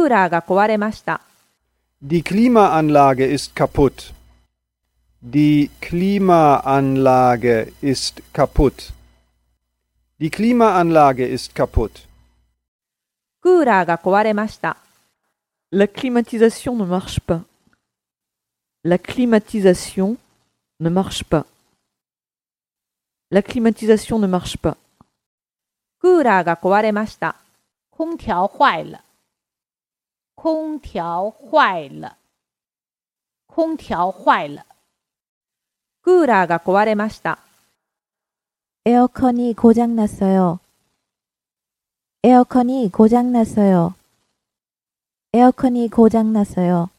クーラーが壊れました。 Die Klimaanlage ist kaputt. Die Klimaanlage ist kaputt. Die Klimaanlage ist kaputt. クーラーが壊れました。 La climatisation ne marche pas. La climatisation ne marche pas. La climatisation ne marche pas. クーラーが壊れました。 空调坏了。空调坏了。空调坏了。 クーラーが壊れました。 에어컨이 고장났어요. 에어컨이 고장났어요. 에어컨이 고장났어요.